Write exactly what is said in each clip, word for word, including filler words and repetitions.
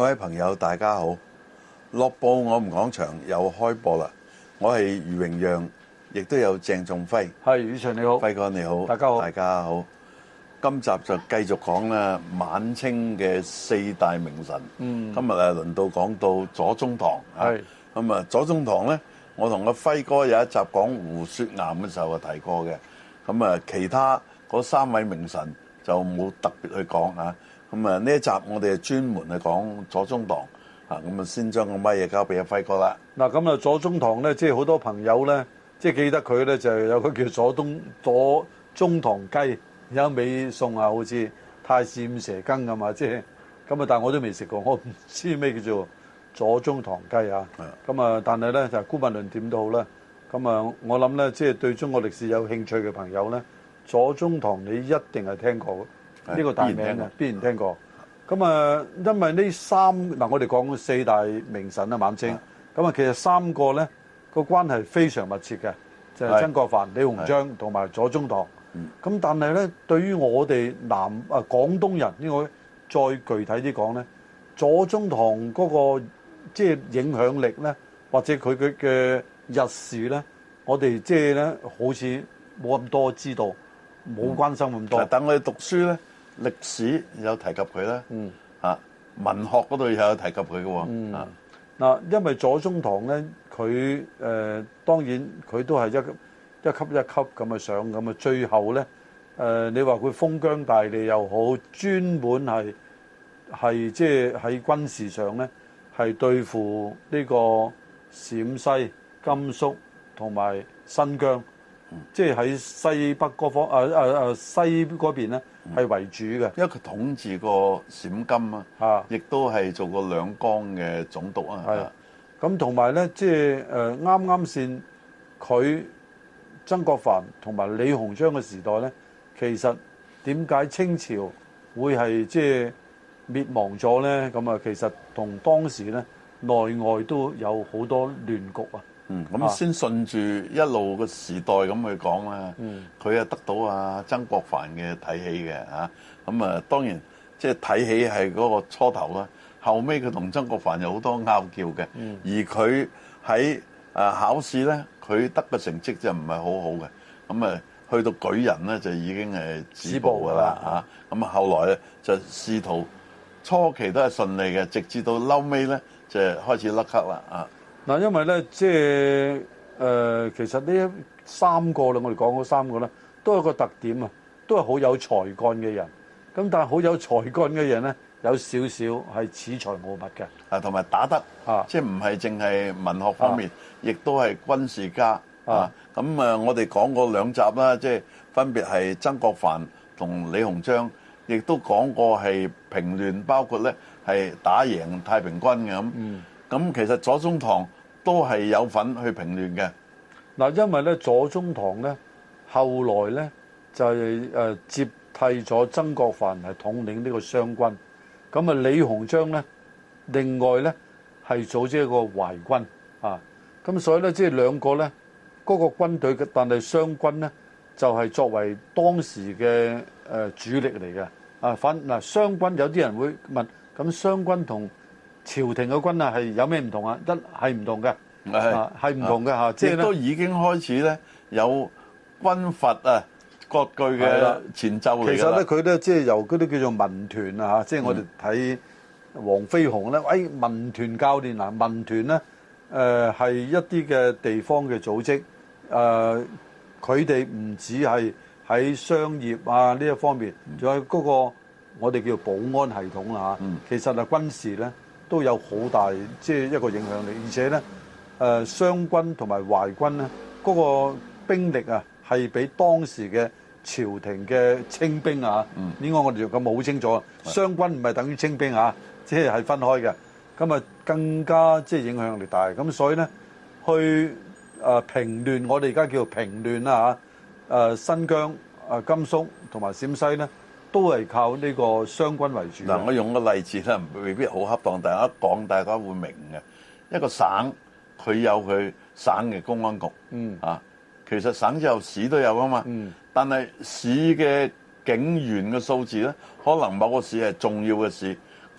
位朋友，大家好！樂報我們講場又開播啦！我係余榮讓，亦都有鄭仲輝。 係，宇祥你好， 輝哥你好， 大家好， 大家好。今集就繼續講啦，晚清嘅四大名臣。嗯，今日啊輪到講到左宗棠。係咁啊，左宗棠咧，我同阿輝哥有一集講胡雪岩嘅時候啊提過嘅。咁啊，其他嗰三位名臣就冇特別去講嚇。咁啊，呢一集我哋係專門去講左宗棠。啊，咁啊，先將個咪嘢交俾阿輝哥啦。 嗱，咁啊，左宗棠咧，即係好多朋友咧，即係記得佢咧，就係有個叫左宗左宗棠雞，有一味餸啊，好似太史五蛇羹咁嘛，即係咁啊，但係我都未食過，我唔知咩叫做左宗棠雞啊。咁啊，但係咧就姑勿論點都好啦。咁啊，我諗咧，即係對中國歷史有興趣嘅朋友咧，左宗棠你一定係聽過呢、呢個大名嘅，必然聽過。咁啊，因為呢三嗱，我哋講四大名臣啊，晚清。咁啊，其實三個咧個關係非常密切嘅，就係、是、曾國藩、李鴻章同埋左宗棠。咁但係咧，對於我哋南啊廣東人，應該再具體啲講咧，左宗棠嗰個即係影響力咧，或者佢佢嘅日事咧，我哋即係咧好似冇咁多知道，冇關心咁多。 等我哋讀書咧。歷史有提及佢啦，嗯啊，文學嗰度又有提及佢嘅喎，嗯啊， 嗱，因為左宗棠咧，佢誒、呃、當然佢都係一一級一級咁啊上咁啊，最後咧誒、呃，你話佢封疆大吏又好，專門係係即係喺軍事上咧係對付呢個陝西、甘肅同埋新疆。即係喺西北嗰方，誒誒誒西嗰邊咧係為主嘅， 因為佢統治過陝甘啊，亦都係做過兩江嘅總督啊。 係咁同埋咧，即係誒啱啱先佢曾國藩同埋李鴻章嘅時代咧，其實點解清朝會係即係滅亡咗咧？咁啊，其實同當時咧內外都有好多亂局啊。 嗯，咁先順住一路個時代咁去講啦。嗯，佢啊得到啊曾國藩嘅睇起嘅嚇，咁啊當然即係睇起係嗰個初頭啦。後尾佢同曾國藩有好多拗撬嘅。嗯，而佢喺啊考試咧，佢得嘅成績就唔係好好嘅。咁啊去到舉人咧就已經係止步㗎啦嚇。咁啊後來咧就仕途初期都係順利嘅，直至到嬲尾咧就開始甩咳啦啊。 嗱，因為咧，即係誒，其實呢三個啦，我哋講嗰三個咧，都有個特點啊，都係好有才幹嘅人。咁但係好有才幹嘅人咧，有少少係恃才傲物嘅。啊， 同埋打得啊，即係唔係淨係文學方面，亦都係軍事家啊。咁啊，我哋講過兩集啦，即係分別係曾國藩同李鴻章，亦都講過係平亂，包括咧係打贏太平軍嘅咁。嗯。咁其實左宗棠都係有份去平亂嘅。 嗱，因為咧左宗棠咧後來咧就係誒接替咗曾國藩係統領呢個湘軍。咁啊李鴻章咧另外咧係組織一個淮軍啊。咁所以咧即係兩個咧嗰個軍隊嘅，但係湘軍咧就係作為當時嘅誒主力嚟嘅。啊，反嗱湘軍有啲人會問，咁湘軍同朝廷嘅軍啊，係有咩唔同啊？一係唔同嘅，係係唔同嘅嚇，即係都已經開始咧有軍閥啊割據嘅前奏嚟嘅。 其實咧，佢咧即係由嗰啲叫做民團啊嚇，即係我哋睇黃飛鴻咧，誒民團教練嗱，民團咧誒係一啲嘅地方嘅組織，誒佢哋唔止係喺商業啊呢一方面，仲有嗰個我哋叫保安系統啦嚇。其實係軍事咧。都有好大即係一個影響力，而且咧誒湘軍同埋淮軍咧嗰個兵力啊係比當時嘅朝廷嘅清兵啊，應該我哋咁好清楚，湘軍唔係等於清兵啊，即係係分開嘅，咁啊更加即係影響力大，咁所以咧去誒平亂，我哋而家叫做平亂啦嚇，誒新疆、誒甘肅同埋陝西咧。都係靠呢個湘軍為主。 嗱，我用個例子咧，未必好恰當，大家講大家會明嘅。一個省佢有佢省嘅公安局，嗯啊，其實省之後市都有噶嘛，嗯。但係市嘅警員嘅數字咧，可能某個市係重要嘅市，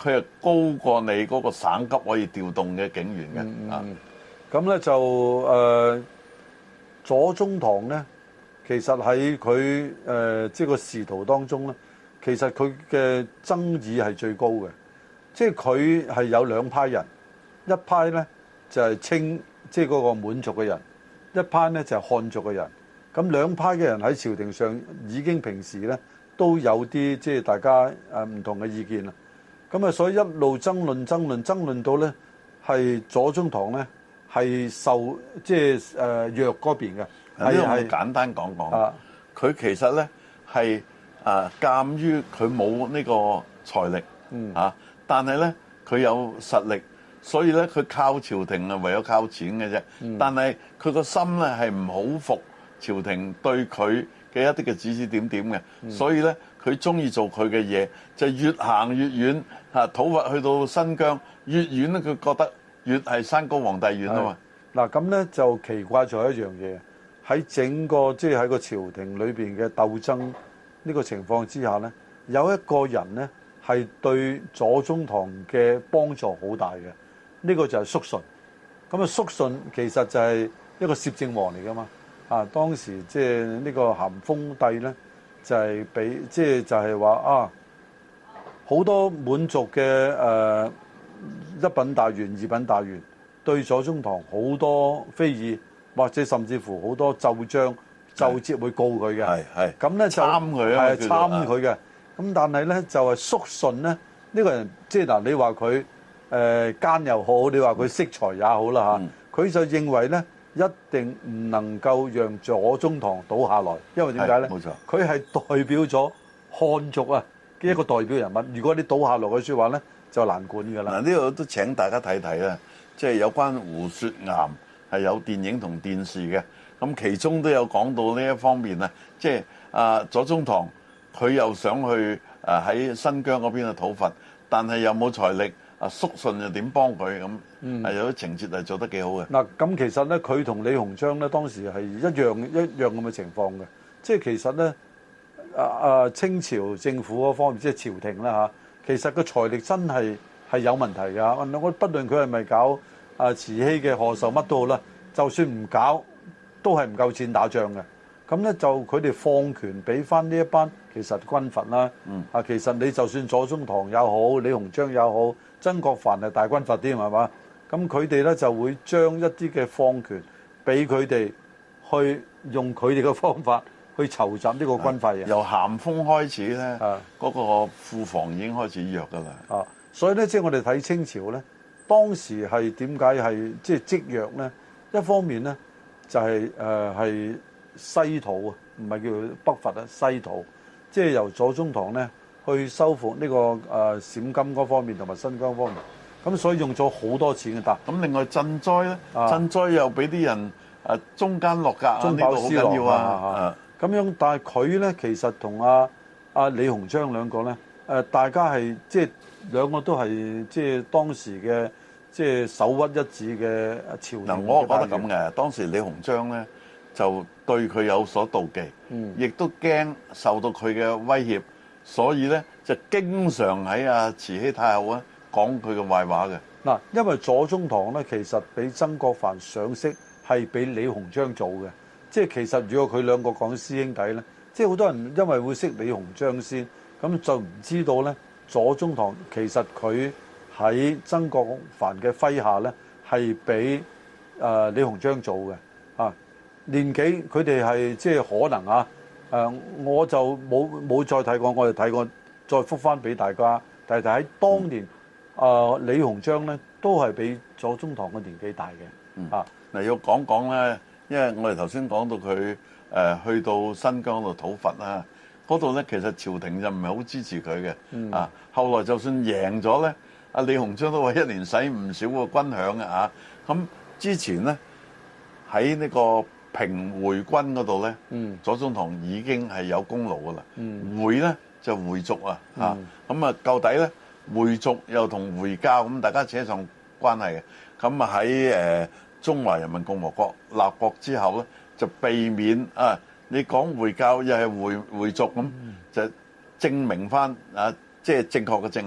佢係高過你嗰個省級可以調動嘅警員嘅、嗯、啊。 咁咧就誒、呃、左宗棠咧，其實喺佢誒即係個仕途當中咧，其實佢嘅爭議係最高嘅。即係佢係有兩派人，一派咧就係、是、清即係嗰個滿族嘅人，一派咧就係、是、漢族嘅人。咁兩派嘅人喺朝廷上已經平時咧都有啲即係大家誒唔同嘅意見啦。咁啊，所以一路爭論爭論爭論到咧係左宗棠咧係受即係誒弱嗰邊嘅。 呢個我簡單講講，佢、啊、其實咧係啊，鑑於佢冇呢個財力，嗯啊，但係咧佢有實力，所以咧佢靠朝廷啊，唯有靠錢嘅啫、嗯。但係佢個心咧係唔好服朝廷對佢嘅一啲嘅指指點點嘅、嗯，所以咧佢中意做佢嘅嘢，就越行越遠嚇。討伐去到新疆，越遠咧佢覺得越係山高皇帝遠啊嘛。嗱咁咧就奇怪咗一樣嘢，喺整個即係喺個朝廷裏邊嘅鬥爭呢個情況之下咧，有一個人咧係對左宗棠嘅幫助好大嘅，呢、這個就係肅順。咁啊，肅順其實就係一個攝政王嚟噶嘛。啊，當時即係呢個咸豐帝咧，就係俾即係就係話啊，好多滿族嘅誒、呃、一品大員、二品大員對左宗棠好多非議，或者甚至乎好多奏章、奏摺會告佢嘅。係係。咁咧就參佢啊，係參佢嘅。咁但係咧就係肅順咧，呢、這個人即係嗱，你話佢誒奸又好，你話佢識才也好啦嚇，佢、嗯、就認為咧。一定唔能夠讓左宗棠倒下來，因為點解咧？冇錯，佢係代表咗漢族啊嘅一個代表人物。如果你倒下來嘅説話咧，就難管㗎啦。嗱，呢度都請大家睇睇啦，即係有關胡雪岩係有電影同電視嘅，咁其中都有講到呢一方面啊，即係啊左宗棠佢又想去啊喺新疆嗰邊去討伐，但係又冇財力。啊，肅順又點幫佢咁？嗯，係有啲情節係做得幾好嘅。嗱，咁其實咧，佢同李鴻章咧當時係一樣一樣咁嘅情況嘅。即係其實咧，啊啊清朝政府嗰方面，即係朝廷啦嚇，其實個財力真係係有問題㗎。我不論佢係咪搞啊慈禧嘅賀壽乜都好啦，就算唔搞，都係唔夠錢打仗嘅。咁咧就佢哋放權俾翻呢一班其實軍閥啦。嗯。啊，其實你就算左宗棠又好，李鴻章又好。曾國藩係大軍閥啲係嘛？咁佢哋咧就會將一啲嘅放權俾佢哋去用佢哋嘅方法去籌集呢個軍費嘅。由咸豐開始咧，嗰、那個庫房已經開始弱㗎啦。啊，所以咧即係我哋睇清朝咧，當時係點解係即係積弱咧？一方面咧就係誒係西土啊，唔係叫北伐啊，西土，即係由左宗棠咧。去收復呢、這個誒、呃、陝甘嗰方面同埋新疆方面，咁所以用咗好多錢嘅。但咁另外賑災咧，賑災又俾啲人誒、啊、中間落格啊，呢個好緊要啊。咁樣，但係佢咧其實同阿阿李鴻章兩個咧誒、呃，大家係即係兩個都係即係當時嘅即係首屈一指嘅朝廷。嗱，我覺得咁嘅，當時李鴻章咧就對佢有所妒忌，亦、嗯、都驚受到佢嘅威脅。所以咧就經常喺阿慈禧太后啊講佢嘅壞話嘅。嗱，因為左宗棠咧其實俾曾國藩賞識係俾李鴻章做嘅，即係其實如果佢兩個講師兄弟咧，即係好多人因為會識李鴻章先，咁就唔知道咧左宗棠其實佢喺曾國藩嘅麾下咧係俾誒李鴻章做嘅。啊，年紀佢哋係即係可能啊。誒、呃，我就冇冇再睇過，我哋睇過，再覆翻俾大家。但係喺當年，誒、嗯呃、李鴻章咧都係比左宗棠嘅年紀大嘅。嗯、啊，嗱要講講咧，因為我哋頭先講到佢誒、呃、去到新疆度討伐啦，嗰度咧其實朝廷就唔係好支持佢嘅。嗯。啊，後來就算贏咗咧，阿李鴻章都話一年使唔少個軍餉嘅啊。咁之前咧喺呢個平回軍嗰度咧，左宗棠已經係有功勞噶啦。回咧就回族啊，嚇咁啊，究底咧回族又同回教咁，大家扯上關係嘅。咁啊喺誒中華人民共和國立國之後咧，就避免啊，你講回教又係回回族咁，就證明翻啊，即係正確嘅正啊，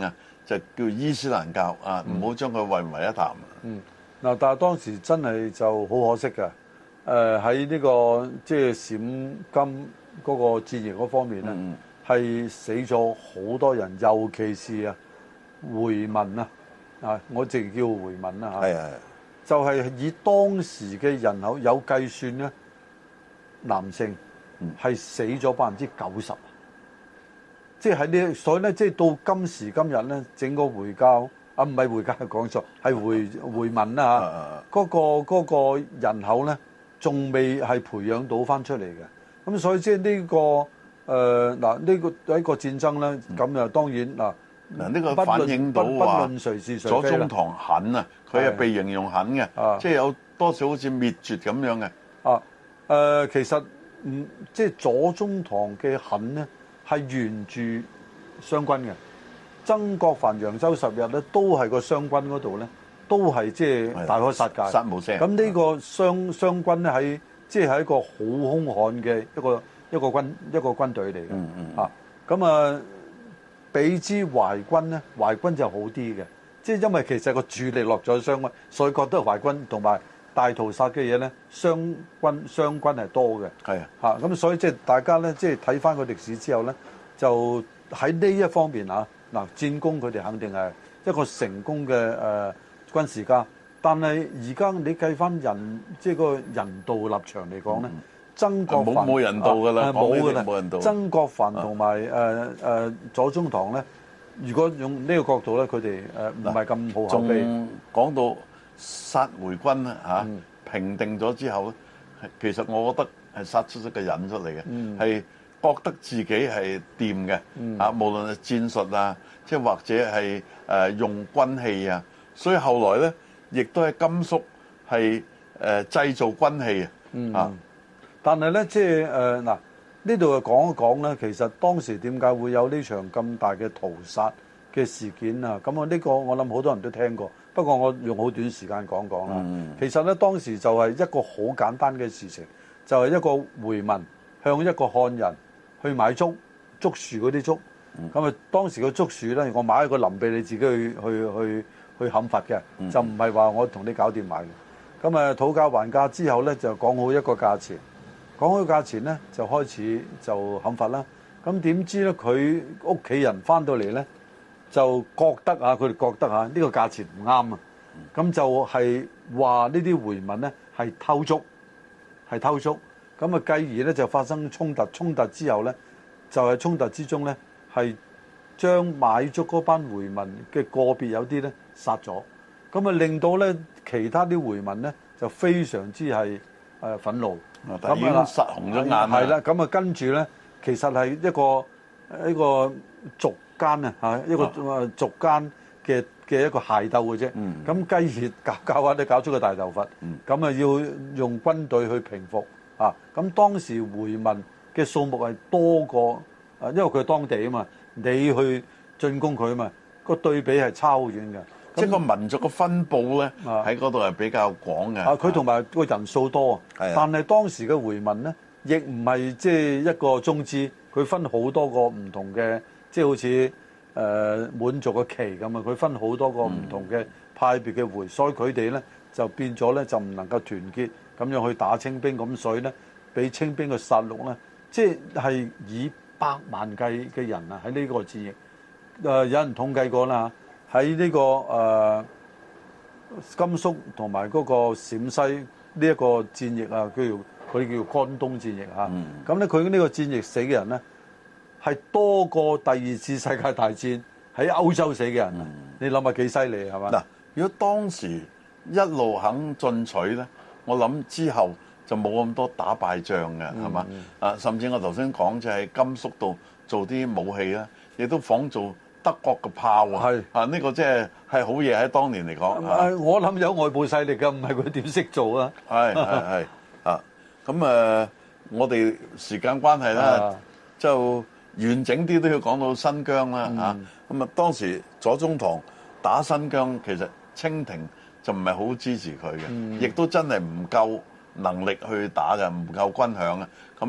就叫伊斯蘭教啊，唔好將佢混為一談。 嗯，嗱，但係當時真係就好可惜嘅。誒喺呢個即係閃金嗰個戰役嗰方面咧，係、嗯、死咗好多人，尤其是啊回民啊，啊我直叫回民啦嚇。係係。就係以當時嘅人口有計算咧，男性係死咗百分之九十。即係喺呢，所以咧，即係到今時今日咧，整個回教啊，唔係回教講錯，係回回民啦嚇。嗰、嗰個嗰個人口咧，仲未係培養到翻出嚟嘅。咁所以即係呢個誒嗱呢個一個戰爭咧，咁啊當然嗱嗱呢個反映到話左宗棠狠啊，佢係被形容狠嘅，即係有多少好似滅絕咁樣嘅。啊誒，其實唔即係左宗棠嘅狠咧。係沿住湘軍嘅，曾國藩、揚州十日咧，都係個湘軍嗰度咧，都係即係大開殺戒，殺無聲。咁呢個湘湘軍咧喺即係一個好兇悍嘅一個一個軍一個軍隊嚟嘅。嗯嗯。啊，咁啊，比之淮軍咧，淮軍就好啲嘅，即係因為其實個主力落咗湘軍，所以覺得淮軍同埋大屠殺嘅嘢咧，湘軍湘軍係多嘅。係啊，嚇咁所以即係大家咧，即係睇翻個歷史之後咧，就喺呢一方面啊，嗱戰功佢哋肯定係一個成功嘅誒、呃、軍事家。但係而家你計翻人，即係個人道立場嚟講咧，嗯、曾國藩冇冇人道㗎啦，冇㗎啦，冇人道。曾國藩同埋誒誒左宗棠咧，如果用呢個角度咧，佢哋誒唔係咁好口碑。仲講到殺回軍啊嚇，平定咗之後咧，其實我覺得係殺出一個人出嚟嘅，係、嗯、覺得自己係掂嘅啊，無論係戰術啊，即係或者係誒用軍器啊，所以後來咧，亦都係甘肅係誒製造軍器啊。嗯，但係咧，即係誒嗱，呢度講一講咧，其實當時點解會有呢場咁大嘅屠殺嘅事件啊？咁啊，呢個我諗好多人都聽過。不過我用好短時間講講啦。嗯、其實咧，當時就係一個好簡單嘅事情，就係、是、一個回民向一個漢人去買竹竹樹嗰啲竹。咁啊、嗯，當時個竹樹咧，我買一個林俾你自己去去去去砍伐嘅，嗯、就唔係話我同你搞掂買嘅。咁啊，討價還價之後咧，就講好一個價錢。講好價錢咧，就開始就砍伐啦。咁點知咧，佢屋企人翻到嚟咧，就覺得啊，佢哋覺得啊，呢個價錢唔啱啊，咁就係話呢啲回民咧係偷竹，係偷竹，咁啊繼而咧就發生衝突，衝突之後咧就係衝突之中咧係將買竹嗰班回民嘅個別有啲咧殺咗，咁啊令到咧其他啲回民咧就非常之係誒憤怒，咁已經殺紅咗眼啦，係啦，咁啊跟住咧其實係一個一個族間啊嚇一個族間嘅嘅一個械鬥嘅啫，咁繼而搞搞下都搞出個大頭佛，咁啊要用軍隊去平復啊，咁當時回民嘅數目係多過啊，因為佢係當地啊嘛，你去進攻佢啊嘛，個對比係差好遠嘅，即係個民族嘅分佈咧喺嗰度係比較廣嘅。啊，佢同埋個人數多，但係當時嘅回民咧亦唔係即係一個宗旨，佢分好多個唔同嘅。即係好似誒、呃、滿族嘅旗咁啊，佢分好多個唔同嘅派別嘅回，嗯、所以佢哋咧就變咗咧就唔能夠團結咁樣去打清兵，咁所以咧俾清兵嘅殺戮咧，即係以百萬計嘅人啊喺呢個戰役，誒、呃、有人統計過啦，喺呢、這個誒、呃、甘肅同埋嗰個陝西呢一個戰役啊，叫做佢叫關東戰役嚇，咁咧佢呢個戰役死嘅人咧，係多過第二次世界大戰喺歐洲死嘅人啊！嗯、你諗下幾犀利係嘛？嗱，如果當時一路肯進取咧，我諗之後就冇咁多打敗仗嘅係嘛？啊，嗯、甚至我頭先講就係甘肅度做啲武器啦，亦都仿做德國嘅炮啊！係啊，呢個即係係好嘢喺當年嚟講。啊、我諗有外部勢力㗎，唔係佢點識做啊？係係係啊！咁誒，我哋時間關係啦，就。完整啲都要講到新疆啦嚇，咁、嗯、啊當時左宗棠打新疆，其實清廷就唔係好支持佢嘅，亦、嗯、都真係唔夠能力去打嘅，唔夠軍餉啊。咁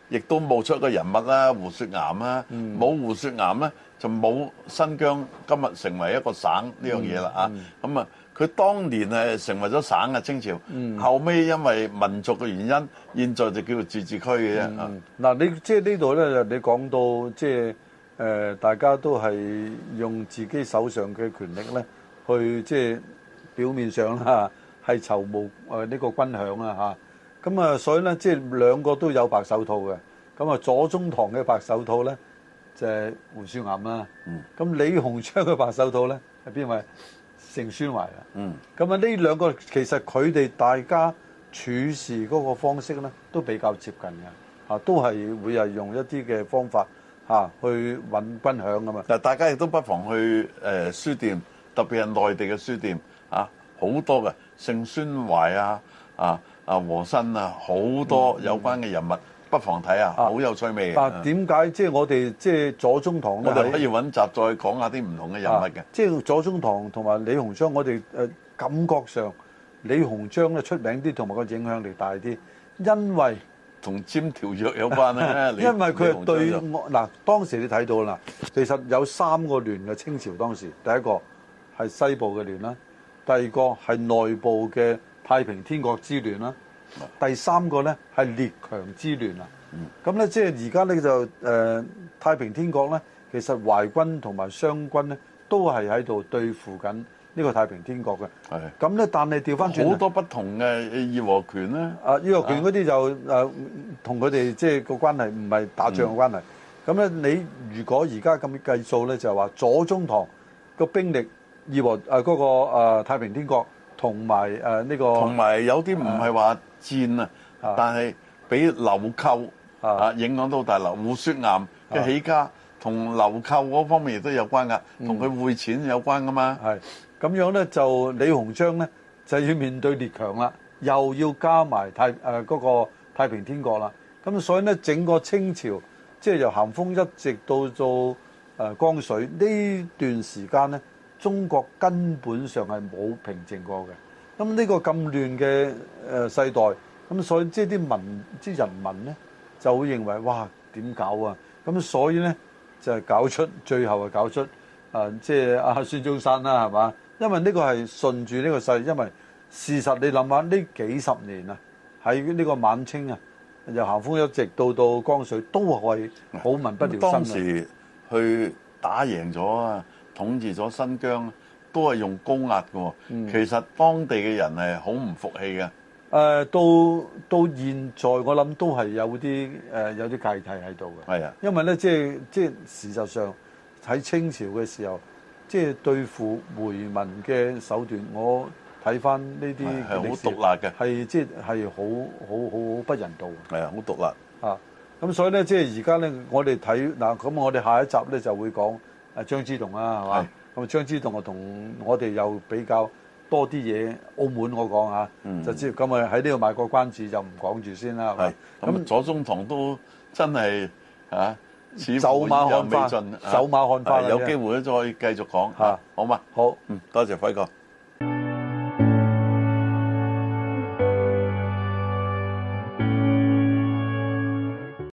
亦都冒出一個人物啦，胡雪岩啦，冇、嗯、胡雪岩咧就冇新疆今日成為一個省呢樣嘢啦啊！咁啊，佢當年係成為咗省嘅清朝，嗯、後尾因為民族嘅原因，現在就叫做自治區嘅啫。嗱、 嗯嗯，你即係呢度咧，你講到即係誒、呃，大家都係用自己手上嘅權力咧，去即係表面上啦，係籌募誒呢個軍饷啊嚇。咁啊，所以咧，即係兩個都有白手套嘅。咁啊，左宗棠嘅白手套咧，就係胡雪岩啦。咁、嗯、李鴻章嘅白手套咧，係邊位？盛宣懷啊。嗯。咁啊，呢兩個其實佢哋大家處事嗰個方式咧，都比較接近嘅。嚇，都係會係用一啲嘅方法嚇去揾軍饷噶嘛。 嗱，大家亦都不妨去誒書店，特別係內地嘅書店啊，好多嘅盛宣懷啊，啊啊和珅啊，好多有關嘅人物。嗯嗯不妨睇下，好有趣味嘅。 但點解即係我哋即係左宗棠咧？ 我哋可以揾集再講下啲唔同嘅人物嘅。 即係左宗棠同埋李鴻章，我哋誒感覺上李鴻章咧出名啲，同埋個影響力大啲，因為同簽條約有關咧。 因為佢係對嗱，當時你睇到啦，其實有三個聯嘅清朝當時，第一個係西部嘅聯啦，第二個係內部嘅太平天國之聯啦。第三個咧係列強之聯啊，咁咧即係而家咧就誒、呃、太平天國咧，其實淮軍同埋湘軍咧都係喺度對付緊呢個太平天國嘅。係咁咧，但係調翻轉好多不同嘅義和拳咧。 啊，義和拳嗰啲就誒同佢哋即係個關係唔係打仗嘅關係。咁咧、嗯，你如果而家咁計數咧，就係話左宗棠個兵力義和誒嗰、呃那個、呃、太平天國同埋誒呢個同埋有啲唔係話戰啊，但係俾流寇啊影響到大流。胡雪岩嘅起家同流寇嗰方面亦都有關噶，同佢匯錢有關噶嘛。 係咁樣咧，就李鴻章咧就要面對列強啦，又要加埋太誒嗰個太平天國啦。咁所以咧，整個清朝即係由咸豐一直到做誒光緒呢段時間咧，中國根本上係冇平靜過嘅。咁呢個咁亂嘅誒世代，咁所以即係啲民即係人民咧，就會認為哇點搞啊？咁所以咧就係搞出最後係搞出啊，即係阿孫中山啦，係嘛？因為呢個係順住呢個勢，因為事實你諗下呢幾十年啊，喺呢個晚清啊，由咸豐一直到到光緒都係好民不聊生。 當時去打贏咗啊，統治咗新疆。都係用高壓嘅，其實當地嘅人係好唔服氣嘅。誒、 呃，到到現在我諗都係有啲誒、呃、有啲芥蒂喺度嘅。係啊，因為咧即係即係事實上喺清朝嘅時候，即係對付回民嘅手段，我睇翻呢啲係好毒辣嘅， 係即係係好好好好不人道。 係啊，好毒辣啊！咁所以咧，即係而家咧，我哋睇嗱，咁我哋下一集咧就會講誒張之洞啦，係嘛？咁張之洞啊，同我哋又比較多啲嘢。澳門我講下，嗯、就知咁啊喺呢度賣個關子，就唔講住先啦。係咁，左宗棠都真係啊， 走馬看花，走馬看花， 有機會再繼續講嚇，好嘛？ 好， 嗯，多謝輝哥。